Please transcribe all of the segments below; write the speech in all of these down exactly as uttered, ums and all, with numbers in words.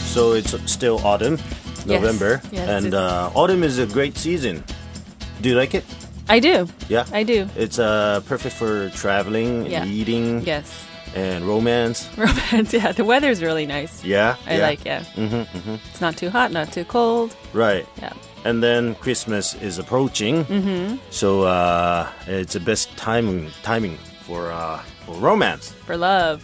So it's still autumn, November, Yes, yes, and it's- uh, autumn is a great season. Do you like it? I do. Yeah, I do. It's uh, perfect for traveling and Yeah. eating Yes. and romance. Romance, yeah. The weather's really nice. Yeah, I yeah. like, yeah. Mm-hmm, mm-hmm. It's not too hot, not too cold. Right. Yeah. And then Christmas is approaching, mm-hmm. so uh, it's the best timing timing for uh, for romance. For love.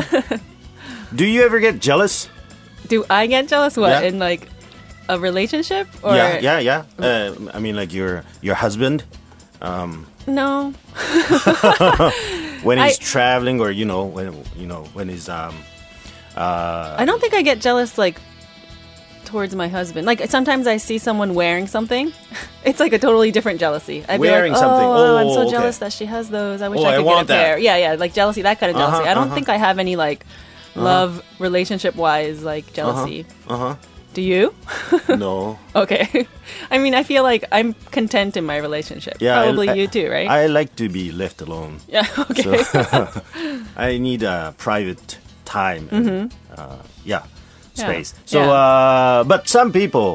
Do you ever get jealous? Do I get jealous? What, Yeah. in like a relationship? Or yeah, yeah, yeah. Uh, I mean, like your your husband No. when he's I- traveling, or you know when you know when he's um I don't think I get jealous like towards my husband. Like sometimes I see someone wearing something. It's like a totally different jealousy. I'd Wearing be like, something. Oh, I'm Oh, so okay. jealous that she has those. I wish Oh, I I could want get a that. pair. Yeah, yeah, like jealousy, that kind of jealousy. Uh-huh, I don't uh-huh. think I have any like love relationship wise like jealousy. uh huh. Do you? No. Okay. I mean, I feel like I'm content in my relationship. Yeah, I- Probably I- you too, right? I like to be left alone. yeah. Okay. So I need a private time. And, uh, yeah, space. So, Mm-hmm. Yeah. uh, but some people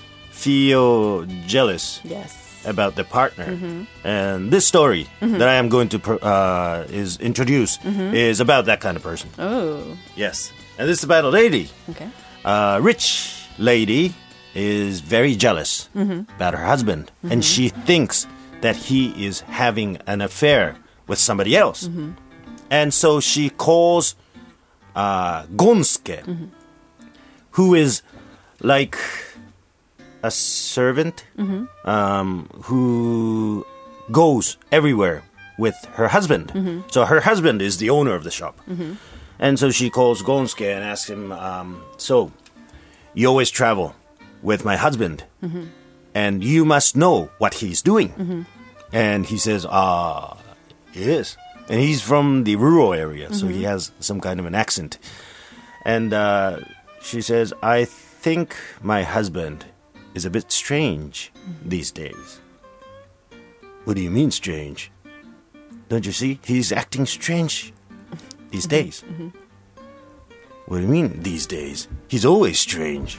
feel jealous yes. about the partner. Mm-hmm. And this story that I am going to pro- uh, is introduce is about that kind of person. Oh. Yes, and this is about a lady. Okay. A rich lady is very jealous about her husband, and she thinks that he is having an affair with somebody else. And so she calls uh, Gonsuke, who is like a servant um, who goes everywhere with her husband. So her husband is the owner of the shop. And so she calls Gonsuke and asks him, um, so, you always travel with my husband, and you must know what he's doing. And he says, ah, yes. And he's from the rural area, so he has some kind of an accent. And uh, she says, I think my husband is a bit strange these days. What do you mean strange? Don't you see? He's acting strange these days. What do you mean these days? He's always strange.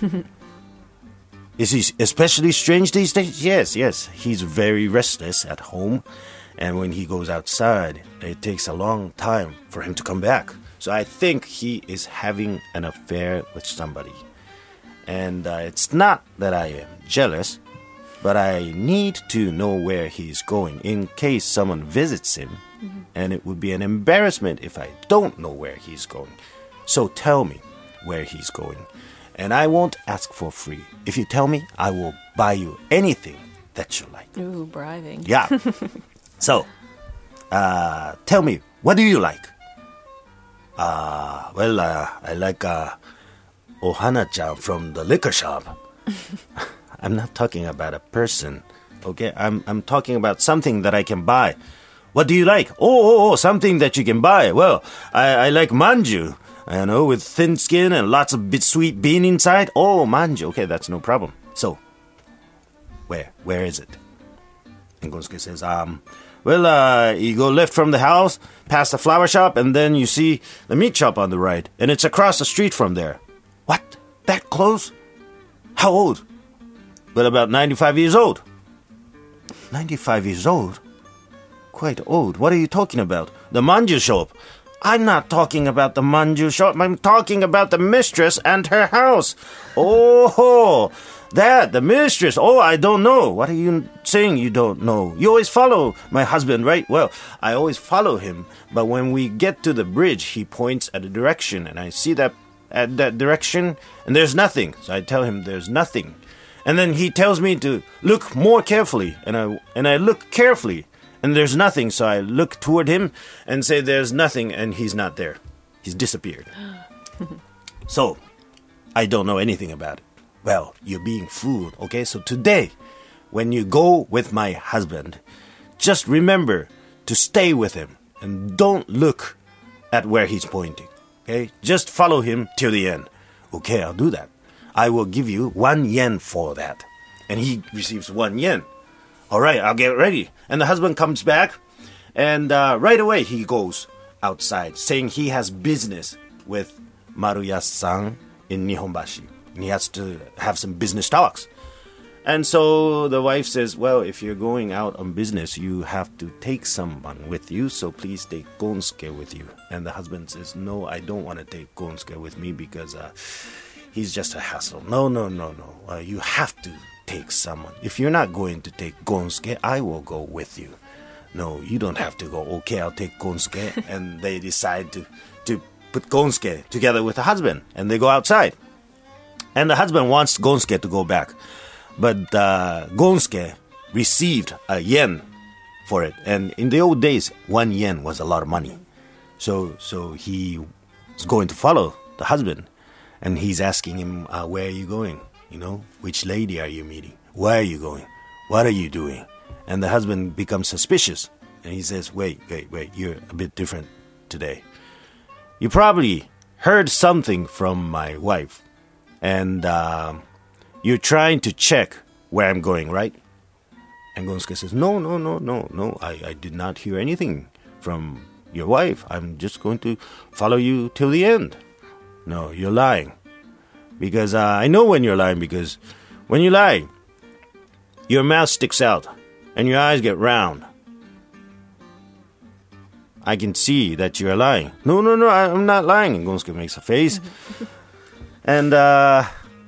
Is he especially strange these days? Yes, yes. He's very restless at home. And when he goes outside, it takes a long time for him to come back. So I think he is having an affair with somebody. And uh, it's not that I am jealous, but I need to know where he's going in case someone visits him. And it would be an embarrassment if I don't know where he's going. So tell me where he's going. And I won't ask for free. If you tell me, I will buy you anything that you like. Ooh, bribing. Yeah. So, uh, tell me, what do you like? Uh, well, uh, I like uh, Ohana-chan from the liquor shop. I'm not talking about a person, okay? I'm I'm talking about something that I can buy. What do you like? Oh, oh, oh, something that you can buy. Well, I, I like manju, you know, with thin skin and lots of bit sweet bean inside. Oh, manju. Okay, that's no problem. So, where? Where is it? And Gonsuke says, um, well, uh, you go left from the house, past the flower shop, and then you see the meat shop on the right. And it's across the street from there. What? That close? How old? Well, about ninety-five years old. ninety-five years old? Quite old. What are you talking about? The manju shop. I'm not talking about the manju shop. I'm talking about the mistress and her house. Oh, that, the mistress. Oh, I don't know. What are you saying you don't know? You always follow my husband, right? Well, I always follow him. But when we get to the bridge, he points at a direction. And I see that at that direction, and there's nothing. So I tell him there's nothing. And then he tells me to look more carefully. And I, and I look carefully. And there's nothing, so I look toward him and say there's nothing, and he's not there. He's disappeared. So, I don't know anything about it. Well, you're being fooled, okay? So today, when you go with my husband, just remember to stay with him and don't look at where he's pointing, okay? Just follow him till the end. Okay, I'll do that. I will give you one yen for that. And he receives one yen. All right, I'll get ready. And the husband comes back, and uh, right away he goes outside, saying he has business with Maruya-san in Nihonbashi. and he has to have some business talks. And so the wife says, well, if you're going out on business, you have to take someone with you, so please take Gonsuke with you. And the husband says, no, I don't want to take Gonsuke with me because uh, he's just a hassle. No, no, no, no. Uh, you have to take someone. If you're not going to take Gonsuke, I will go with you. No, you don't have to go. Okay, I'll take Gonsuke. And they decide to, to put Gonsuke together with the husband, and they go outside. And the husband wants Gonsuke to go back. But uh, Gonsuke received a yen for it. And in the old days, one yen was a lot of money. So so he is going to follow the husband. And he's asking him, uh, where are you going? You know, which lady are you meeting? Where are you going? What are you doing? And the husband becomes suspicious. And he says, wait, wait, wait, you're a bit different today. You probably heard something from my wife. And... Uh, You're trying to check where I'm going, right? And Gonsuke says, no, no, no, no, no. I, I did not hear anything from your wife. I'm just going to follow you till the end. No, you're lying. Because uh, I know when you're lying, because when you lie, your mouth sticks out and your eyes get round. I can see that you're lying. No, no, no, I, I'm not lying. And Gonsuke makes a face. and, uh...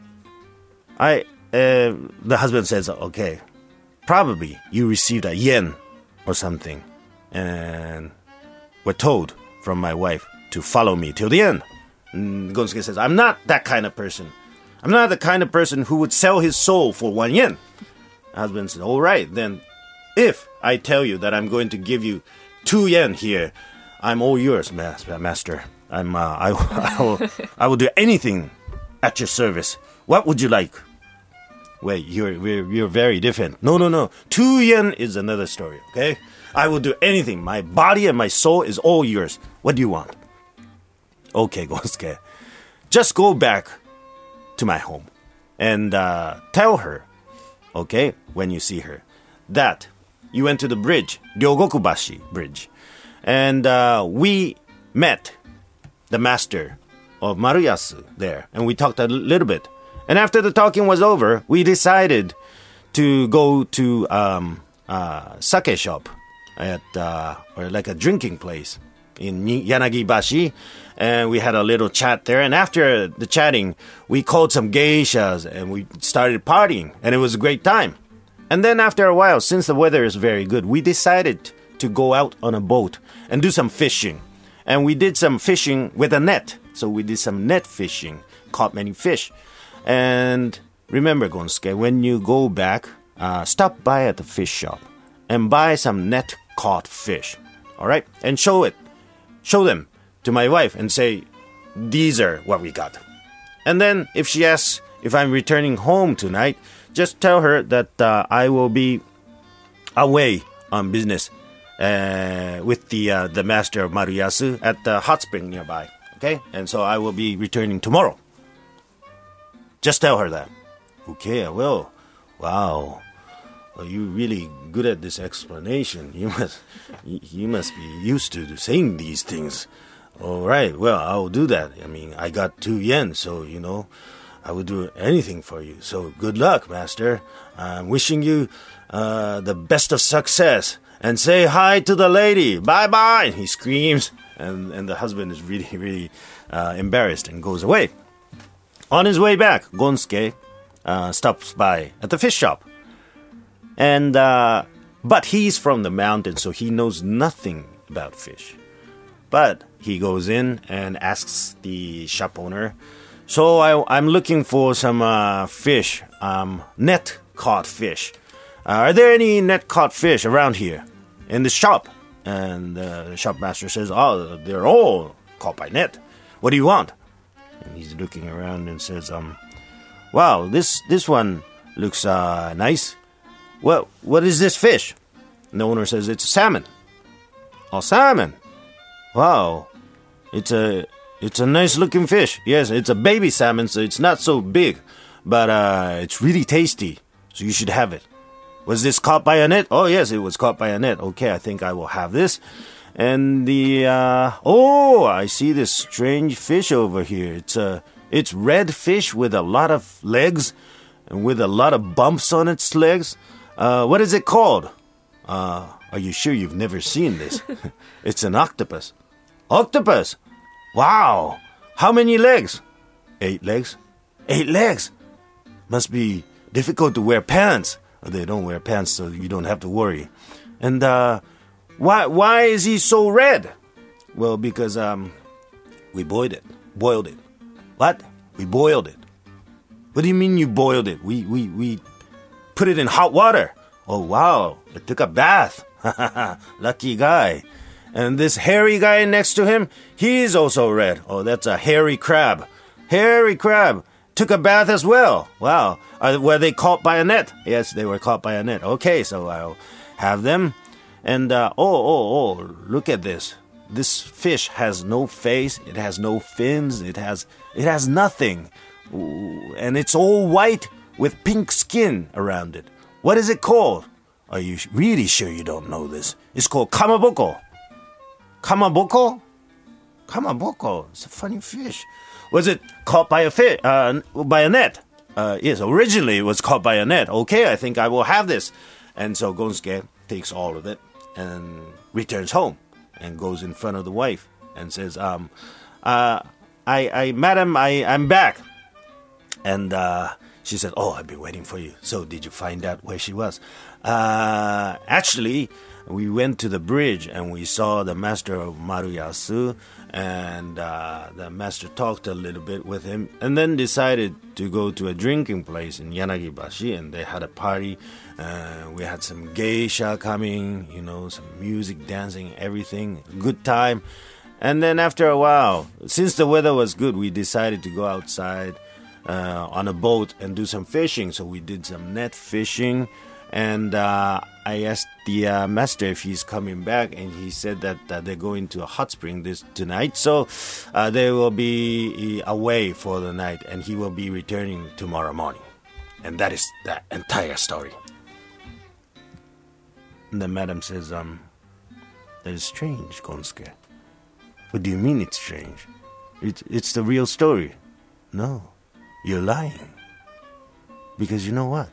I, uh, the husband says, okay, probably you received a yen or something, and were told from my wife to follow me till the end. And Gonsuke says, I'm not that kind of person. I'm not the kind of person who would sell his soul for one yen. The husband says, all right, then if I tell you that I'm going to give you two yen here, I'm all yours, master. I'm, uh, I, I, will, I will do anything at your service. What would you like? Wait, you're, you're you're very different. No, no, no. Two yen is another story, okay? I will do anything. My body and my soul is all yours. What do you want? Okay, Gonsuke. Just go back to my home and uh, tell her, okay, when you see her, that you went to the bridge, Ryogokubashi Bridge, and uh, we met the master of Maruyasu there, and we talked a little bit. And after the talking was over, we decided to go to um, uh, sake shop at uh, or like a drinking place in Yanagibashi, and we had a little chat there. And after the chatting, we called some geishas and we started partying, and it was a great time. And then after a while, since the weather is very good, we decided to go out on a boat and do some fishing. And we did some fishing with a net. So we did some net fishing, caught many fish. And remember, Gonsuke, when you go back, uh, stop by at the fish shop and buy some net caught fish. All right? And show it. Show them to my wife and say, these are what we got. And then if she asks if I'm returning home tonight, just tell her that uh, I will be away on business uh, with the uh, the master of Maruyasu at the hot spring nearby. Okay? And so I will be returning tomorrow. Just tell her that. Okay, I will. Wow. Well, you're really good at this explanation. You must you must be used to saying these things. All right, well, I will do that. I mean, I got two yen, so, you know, I would do anything for you. So good luck, master. I'm wishing you uh, the best of success. And say hi to the lady. Bye-bye. He screams, and, and the husband is really, really uh, embarrassed and goes away. On his way back, Gonsuke uh, stops by at the fish shop. And uh, but he's from the mountain, so he knows nothing about fish. But he goes in and asks the shop owner, so I, I'm looking for some uh, fish, um, net caught fish. Uh, are there any net caught fish around here in the shop? And uh, the shop master says, oh, they're all caught by net. What do you want? And he's looking around and says, um, wow, this this one looks uh, nice. Well, what is this fish? And the owner says, it's a salmon. Oh, salmon. Wow. It's a it's a nice looking fish. Yes, it's a baby salmon, so it's not so big. But uh, it's really tasty, so you should have it. Was this caught by a net? Oh, yes, it was caught by a net. Okay, I think I will have this. And the, uh, oh, I see this strange fish over here. It's a, It's red fish with a lot of legs and with a lot of bumps on its legs. Uh, what is it called? Uh, are you sure you've never seen this? It's an octopus. Octopus? Wow. How many legs? Eight legs. Eight legs. Must be difficult to wear pants. They don't wear pants, so you don't have to worry. And uh, why why is he so red? Well, because um, we boiled it. Boiled it. What? We boiled it. What do you mean you boiled it? We we we put it in hot water. Oh wow! It took a bath. Lucky guy. And this hairy guy next to him, he's also red. Oh, that's a hairy crab. Hairy crab took a bath as well. Wow. Uh, were they caught by a net? Yes, they were caught by a net. Okay, so I'll have them. And, uh, oh, oh, oh, look at this. This fish has no face. It has no fins. It has, it has nothing. Ooh, and it's all white with pink skin around it. What is it called? Are you really sure you don't know this? It's called kamaboko. Kamaboko? Kamaboko. It's a funny fish. Was it caught by a fish, uh, by a net? Uh, yes, originally it was caught by a net. Okay, I think I will have this. And so Gonsuke takes all of it and returns home and goes in front of the wife and says, um, uh, I, I, madam, I, I'm back. And, uh, she said, oh, I've been waiting for you. So did you find out where she was? Uh, actually, we went to the bridge and we saw the master of Maruyasu, and uh, the master talked a little bit with him and then decided to go to a drinking place in Yanagibashi, and they had a party. Uh, we had some geisha coming, you know, some music, dancing, everything. Good time. And then after a while, since the weather was good, we decided to go outside uh, on a boat and do some fishing. So we did some net fishing. And uh, I asked the uh, master if he's coming back, and he said that uh, they're going to a hot spring this tonight. So uh, they will be away for the night, and he will be returning tomorrow morning. And that is the entire story. And the madam says, um, that is strange, Gonsuke. What do you mean it's strange? It's, it's the real story. No, you're lying. Because you know what?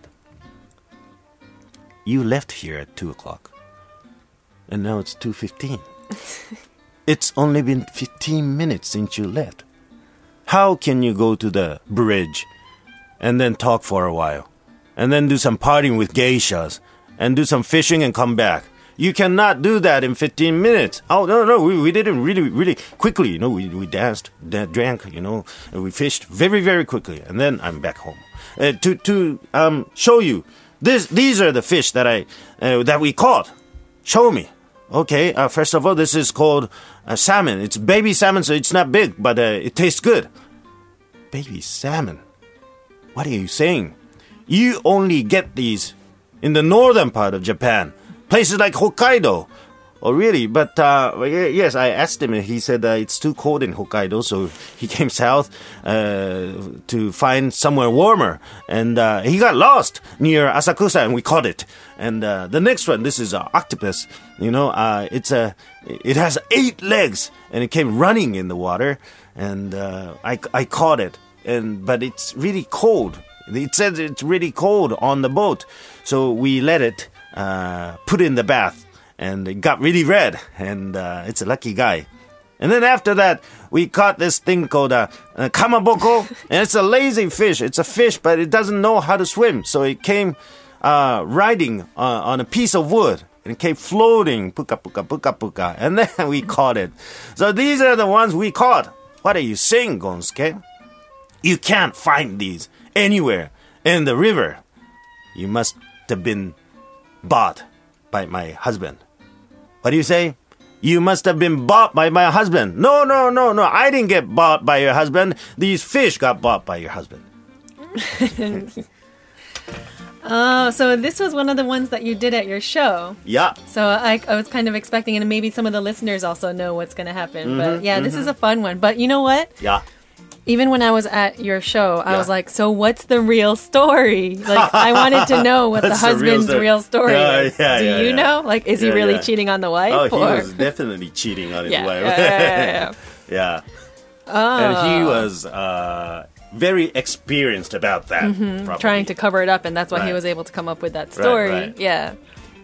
You left here at two o'clock, and now it's two fifteen. It's only been fifteen minutes since you left. How can you go to the bridge and then talk for a while, and then do some partying with geishas, and do some fishing and come back? You cannot do that in fifteen minutes. Oh, no, no, we, we did it really, really quickly. You know, we, we danced, da- drank, you know, and we fished very, very quickly, and then I'm back home. Uh, to to um show you. This, these are the fish that I uh, that we caught. Show me. Okay, uh, first of all, this is called uh, salmon. It's baby salmon, so it's not big, but uh, it tastes good. Baby salmon? What are you saying? You only get these in the northern part of Japan. Places like Hokkaido. Oh, really? But, uh, yes, I asked him, and he said uh, it's too cold in Hokkaido, so he came south uh, to find somewhere warmer. And uh, he got lost near Asakusa, and we caught it. And uh, the next one, this is an octopus. You know, uh, it's a, it has eight legs, and it came running in the water, and uh, I, I caught it. And but it's really cold. It says it's really cold on the boat, so we let it uh, put in the bath. And it got really red, and uh, it's a lucky guy. And then after that, we caught this thing called a, a kamaboko, and it's a lazy fish. It's a fish, but it doesn't know how to swim. So it came uh, riding uh, on a piece of wood, and it came floating, puka puka puka puka, and then we caught it. So these are the ones we caught. What are you saying, Gonsuke? You can't find these anywhere in the river. You must have been bought by my husband. What do you say? You must have been bought by my husband. No, no, no, no. I didn't get bought by your husband. These fish got bought by your husband. Oh, so this was one of the ones that you did at your show. Yeah. So I, I was kind of expecting, and maybe some of the listeners also know what's going to happen. Mm-hmm, but yeah, mm-hmm. This is a fun one. But you know what? Yeah. Even when I was at your show, I yeah. was like, so what's the real story? Like, I wanted to know what the husband's the real story, real story yeah, is. yeah, Do yeah, you yeah. know? Like, is yeah, he really yeah. cheating on the wife? Oh, he or? was definitely cheating on his yeah, wife. yeah, yeah, yeah. yeah. Oh. And he was, uh, very experienced about that. Mm-hmm. Trying to cover it up, and that's why right. he was able to come up with that story. Right, right. Yeah.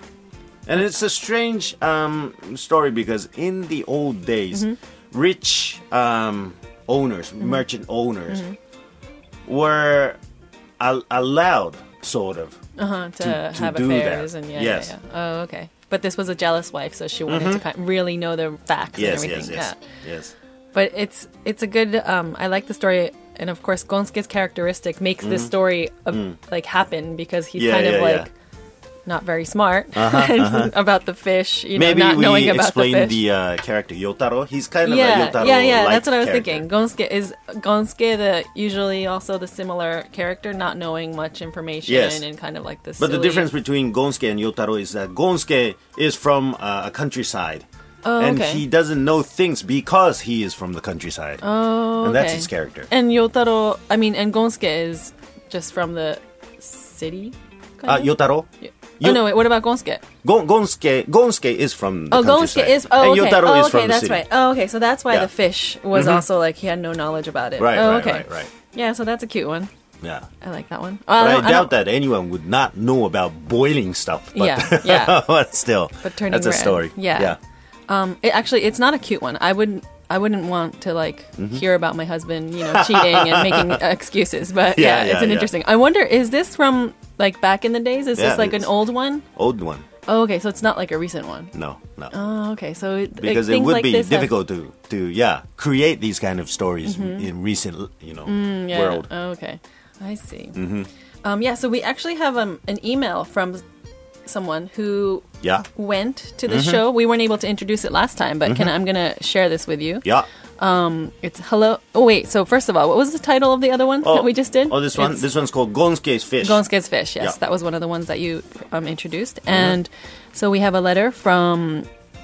And it's a strange um, story because in the old days, mm-hmm. rich um, owners, mm-hmm. merchant owners, mm-hmm. were al- allowed, sort of, uh-huh, to, to, to have do affairs. that. And yeah, yes. yeah, yeah. Oh, okay. But this was a jealous wife, so she wanted mm-hmm. to kind of really know the facts yes, and everything. Yes, yes, yeah. yes. But it's it's a good. Um, I like the story, and of course, Gonsuke's characteristic makes mm-hmm. this story uh, mm. like happen because he's yeah, kind yeah, of like. Yeah. Not very smart uh-huh, uh-huh. about the fish, you Maybe know, not we knowing about the explain fish. the uh, character Yotaro. He's kind of yeah, a Yotaro yeah, yeah. That's what I was character. thinking. Gonsuke is Gonsuke the usually also the similar character, not knowing much information yes. and kind of like this. But silly... the difference between Gonsuke and Yotaro is that Gonsuke is from uh, a countryside, oh, and okay. he doesn't know things because he is from the countryside. Oh, and that's okay. his character. And Yotaro, I mean, and Gonsuke is just from the city. Uh, Yotaro. Yeah. Oh, no, wait, what about Gonsuke? Gon- Gonsuke, Gonsuke is from the oh, countryside. Gonsuke is, oh, and okay. Yotaro oh, is okay, from the that's city. right. Oh, okay, so that's why yeah. the fish was mm-hmm. also like, he had no knowledge about it. Right, oh, right, okay. right, right. Yeah, so that's a cute one. Yeah. I like that one. But uh, I, I, I I doubt that anyone would not know about boiling stuff. But yeah, yeah. but still, but turning that's a red. story. Yeah. yeah. Um, it, actually, it's not a cute one. I wouldn't. I wouldn't want to like mm-hmm. hear about my husband, you know, cheating and making uh, excuses. But yeah, Yeah, it's yeah, an yeah. interesting. I wonder, is this from like back in the days? Is Yeah, this like an it's- old one? Old one. Oh, okay, so it's not like a recent one. No, no. Oh, okay, so it, Because like, it would like be this difficult to, to yeah create these kind of stories Mm-hmm. in recent you know have, yeah. world. Oh, okay, I see. Mm-hmm. Um, yeah, so we actually have um, an email from someone who Yeah, went to the Mm-hmm. show. We weren't able to introduce it last time, but can I'm gonna share this with you. yeah. It's hello. Oh wait, so first of all, what was the title of the other one that we just did? Oh, this one. It's This one's called Gonsuke's Fish. Gonsuke's Fish. Yes, Yeah. that was one of the ones that you um, introduced. And so we have a letter from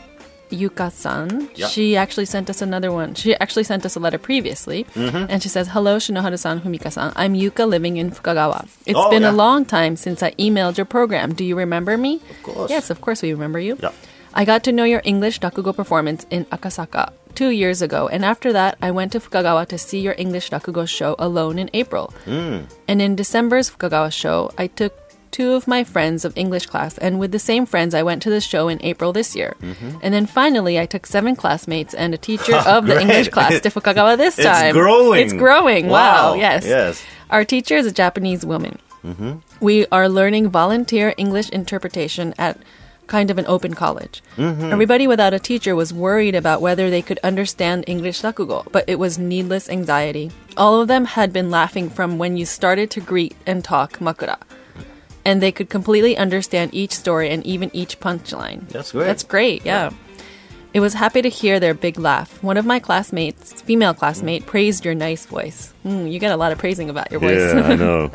Yuka-san. Yeah. She actually sent us another one. She actually sent us a letter previously. Mm-hmm. And she says, hello, Shinoharu-san, Fumika-san. I'm Yuka living in Fukagawa. It's Oh, been yeah. a long time since I emailed your program. Do you remember me? Of course. Yes, of course we remember you. Yeah. I got to know your English rakugo performance in Akasaka two years ago, and after that, I went to Fukagawa to see your English rakugo show alone in April. Mm. And in December's Fukagawa show, I took two of my friends of English class, and with the same friends, I went to the show in April this year. Mm-hmm. And then finally, I took seven classmates and a teacher of the Great. English class to Fukagawa this It's time. growing. It's growing. Wow. Wow. Yes. Yes. Our teacher is a Japanese woman. Mm-hmm. We are learning volunteer English interpretation at kind of an open college. Mm-hmm. Everybody without a teacher was worried about whether they could understand English rakugo, but it was needless anxiety. All of them had been laughing from when you started to greet and talk makura. And they could completely understand each story and even each punchline. That's great. That's great, yeah. It was happy to hear their big laugh. One of my classmates, female classmate, praised your nice voice. Mm, you get a lot of praising about your voice. Yeah, I know.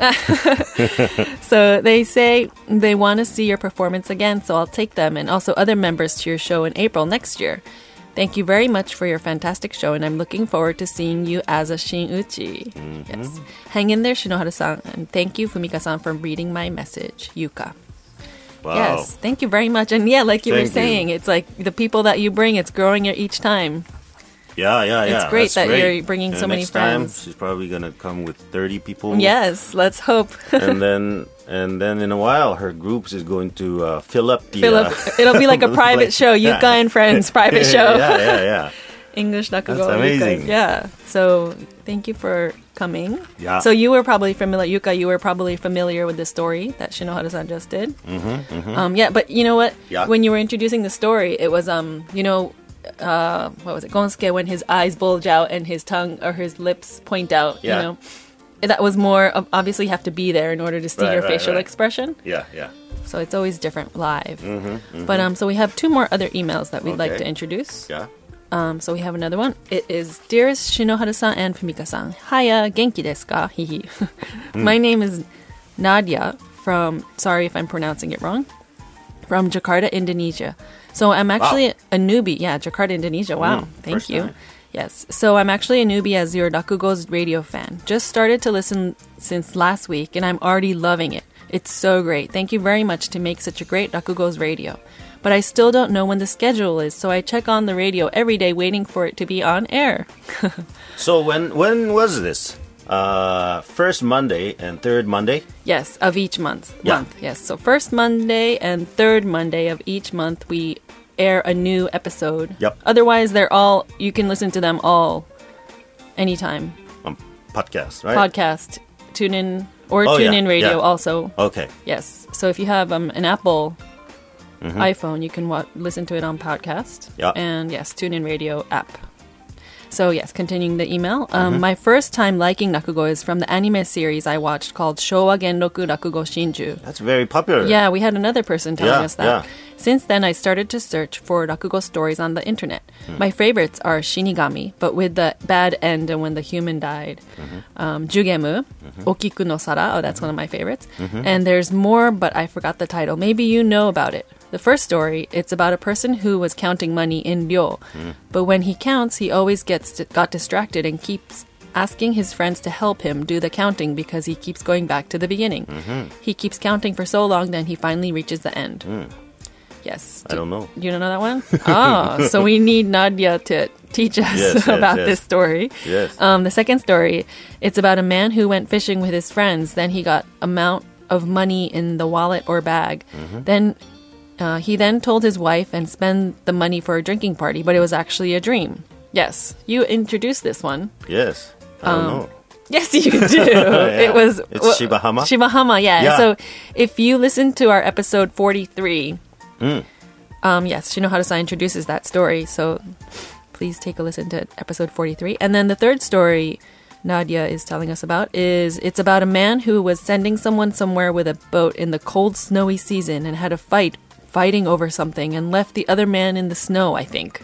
So they say they want to see your performance again, so I'll take them and also other members to your show in April next year. Thank you very much for your fantastic show, and I'm looking forward to seeing you as a Shin-uchi. Mm-hmm. Yes. Hang in there, Shinoharu-san, and thank you, Fumika-san, for reading my message. Yuka. Wow. Yes, thank you very much. And yeah, like you Thank were saying, you. it's like the people that you bring, it's growing each time. Yeah, yeah, yeah. It's great That's that great. you're bringing And so many next time, friends. she's probably gonna come with thirty people. Yes, let's hope. and then, and then in a while, her groups is going to uh, fill up the. Philip, uh, it'll be like a private like- show, Yuka and Friends private show. yeah, yeah, yeah. English Rakugo. That's amazing. Yuka. Yeah. So thank you for coming. Yeah. So you were probably familiar, Yuka, you were probably familiar with the story that Shinoharu-san just did. Mm-hmm, mm-hmm. Um, yeah, but you know what? Yeah. When you were introducing the story, it was, um, you know, uh, what was it? Gonsuke, when his eyes bulge out and his tongue or his lips point out, Yeah. you know. That was more, of, obviously you have to be there in order to see Right, your right, facial right. expression. Yeah, yeah. So it's always different live. Mm-hmm, mm-hmm. But um, so we have two more other emails that we'd like Okay. to introduce. Yeah. Um, so we have another one. It is Dearest Shinoharu-san and Fumika-san. Hiya, genki desu ka? Hihi. My name is Nadia from, sorry if I'm pronouncing it wrong, from Jakarta, Indonesia. So I'm actually Wow. a newbie. Yeah, Jakarta, Indonesia. Wow. Mm, Thank first you. time. Yes. So I'm actually a newbie as your Rakugo's radio fan. Just started to listen since last week and I'm already loving it. It's so great. Thank you very much to make such a great Rakugo's radio. But I still don't know when the schedule is, so I check on the radio every day waiting for it to be on air. So when when was this? Uh, first Monday and third Monday. Yes, of each month. Yeah. Month. Yes. So first Monday and third Monday of each month, we air a new episode. Yep. Otherwise, they're all, you can listen to them all anytime. Um, podcast, right? Podcast, tune in, or Oh, tune yeah, in radio yeah. also. Okay. Yes. So if you have um, an Apple iPhone, you can wa- listen to it on podcast. Yeah. And yes, tune in radio app. So yes, continuing the email. Um, My first time liking Rakugo is from the anime series I watched called Showa Genroku Rakugo Shinju. That's very popular. Yeah, we had another person telling Yeah, us that. yeah. Since then, I started to search for Rakugo stories on the internet. My favorites are Shinigami, but with the bad end and when the human died. Um, Jugemu, Okiku no Sara, oh, that's one of my favorites. And there's more, but I forgot the title. Maybe you know about it. The first story, it's about a person who was counting money in ryo. But when he counts, he always gets got distracted and keeps asking his friends to help him do the counting because he keeps going back to the beginning. He keeps counting for so long, then he finally reaches the end. Yes. I don't know. You don't know that one? Oh, so we need Nadia to teach us Yes, yes, about yes. this story. Yes. Um, the second story, it's about a man who went fishing with his friends. Then he got amount of money in the wallet or bag. Then uh, he then told his wife and spent the money for a drinking party, but it was actually a dream. Yes, you introduced this one. Yes. I don't know. Yes, you do. It was It's well, Shibahama? Shibahama, yeah. Yeah. So if you listen to our episode forty-three, um, yes, Shinohara-san introduces that story. So please take a listen to episode forty-three. And then the third story Nadia is telling us about is it's about a man who was sending someone somewhere with a boat in the cold, snowy season and had a fight fighting over something and left the other man in the snow, I think.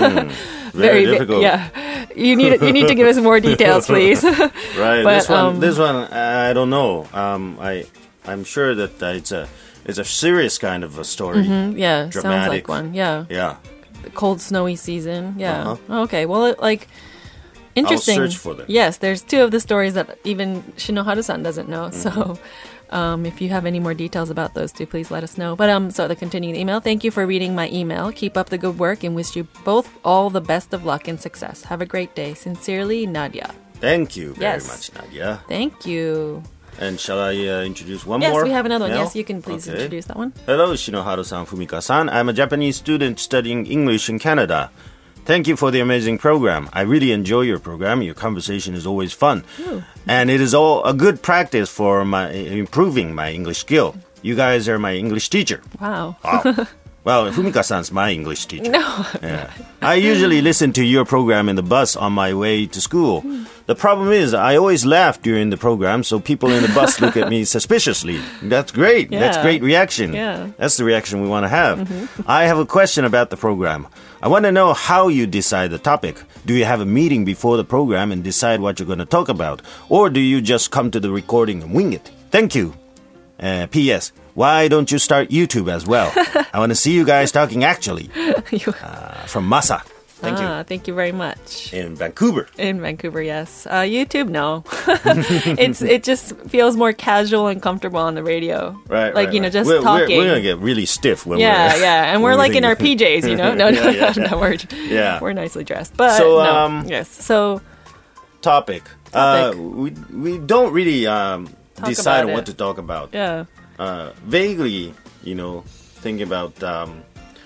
Very, ve- difficult. Yeah. You need you need to give us more details, please. Right. But, this one. um, this one. I don't know. Um, I. I'm sure that uh, it's a. It's a serious kind of a story. Yeah, sounds Dramatic. like one. Yeah. Yeah. The cold, snowy season. Yeah. Uh-huh. Okay. Well, it, like, interesting. search for them. Yes, there's two of the stories that even Shinohara-san doesn't know. Mm-hmm. So, um, if you have any more details about those two, please let us know. But um, so the continuing email. Thank you for reading my email. Keep up the good work and wish you both all the best of luck and success. Have a great day. Sincerely, Nadia. Thank you very Yes. much, Nadia. Thank you. And shall I uh, introduce one Yes, more? we have another one. now? Yes, you can please Okay. introduce that one. Hello, Shinohara-san, Fumika-san. I'm a Japanese student studying English in Canada. Thank you for the amazing program. I really enjoy your program. Your conversation is always fun. And it is all a good practice for my improving my English skill. You guys are my English teacher. Wow. Wow. Well, Fumika-san's my English teacher. No. Yeah. I usually listen to your program in the bus on my way to school. The problem is I always laugh during the program, so people in the bus look at me suspiciously. That's great. That's Yeah. great reaction. Yeah. That's the reaction we want to have. I have a question about the program. I want to know how you decide the topic. Do you have a meeting before the program and decide what you're going to talk about? Or do you just come to the recording and wing it? Thank you. Uh, P S. Why don't you start YouTube as well? I want to see you guys talking actually. You- Uh, from Masa. Thank you. ah, Thank you very much. In Vancouver. In Vancouver, yes. Uh, YouTube, no. it's it just feels more casual and comfortable on the radio. Right, Like, right, you know, right. just we're, talking. We're, we're going to get really stiff when yeah, we're... yeah. And when we're like in our thinking- P Js, you know? No, no, Yeah, yeah, no, we're, Yeah. we're nicely dressed. But, So, no. um, yes. So, Topic. Topic. Uh, we, we don't really um, Talk decide about on what it. to talk about. yeah. Uh, vaguely, you know, think about... Um,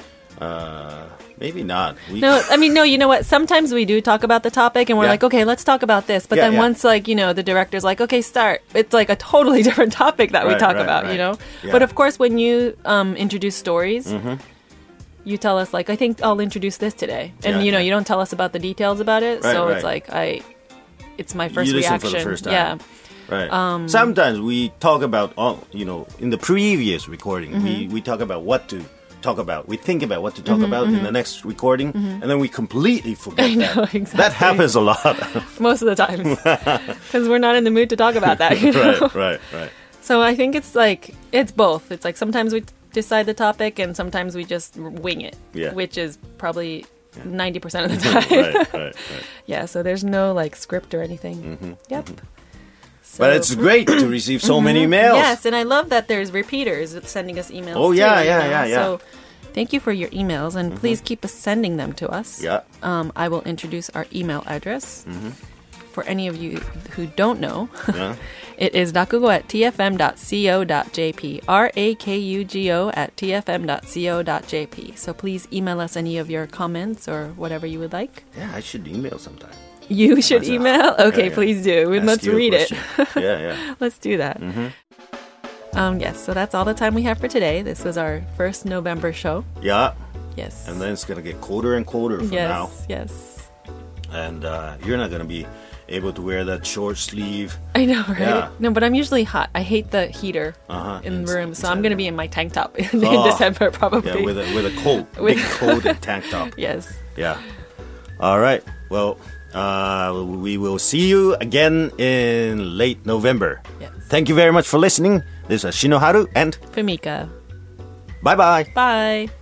uh, maybe not. We, No, I mean, no, you know what? Sometimes we do talk about the topic and we're Yeah. like, okay, let's talk about this. But Yeah, then yeah. once, like, you know, the director's like, okay, start. It's like a totally different topic that we Right, talk right, about, right. you know? Yeah. But of course, when you um, introduce stories, you tell us, like, I think I'll introduce this today. And, Yeah, you know, yeah. you don't tell us about the details about it. Right, so right. it's like, I, it's my first you listen reaction. for the first time. Yeah. Right. Um, Sometimes we talk about, all you know, in the previous recording, Mm-hmm. we, we talk about what to talk about. We think about what to Mm-hmm, talk about in the next recording, and then we completely forget I know, that. exactly. That happens a lot. Most of the times. Because we're not in the mood to talk about that, you know? right, right, right. So I think it's like it's both. It's like sometimes we decide the topic and sometimes we just wing it, Yeah. which is probably ninety percent of the time. right, right, right. Yeah, so there's no like script or anything. Yep. So, But it's great to receive so many emails. yes, and I love that there's repeaters sending us emails. Oh, too, yeah, you yeah, know? yeah, yeah. So thank you for your emails and please keep us sending them to us. Yeah. Um, I will introduce our email address. for any of you who don't know, Yeah. it is rakugo at t f m dot co dot j p. R A K U G O at t f m dot co dot j p. So please email us any of your comments or whatever you would like. Yeah, I should email sometime. You should That's a- email? Okay, yeah, yeah. please do. Ask Let's you a read it. question. Yeah, yeah. Let's do that. Um, yes, so that's all the time we have for today. This was our first November show. Yeah. Yes. And then it's going to get colder and colder from yes, now. yes. And uh, you're not going to be able to wear that short sleeve. I know, right? Yeah. No, but I'm usually hot. I hate the heater Uh-huh. in the Ins- room, so I'm inside going to the- be in my tank top in, Oh. December, probably. Yeah, with a, with a coat. With- Big coat and tank top. Yes. Yeah. All right. Well, uh, we will see you again in late November. Yes. Thank you very much for listening. This is Shinoharu and Fumika. bye-bye. Bye.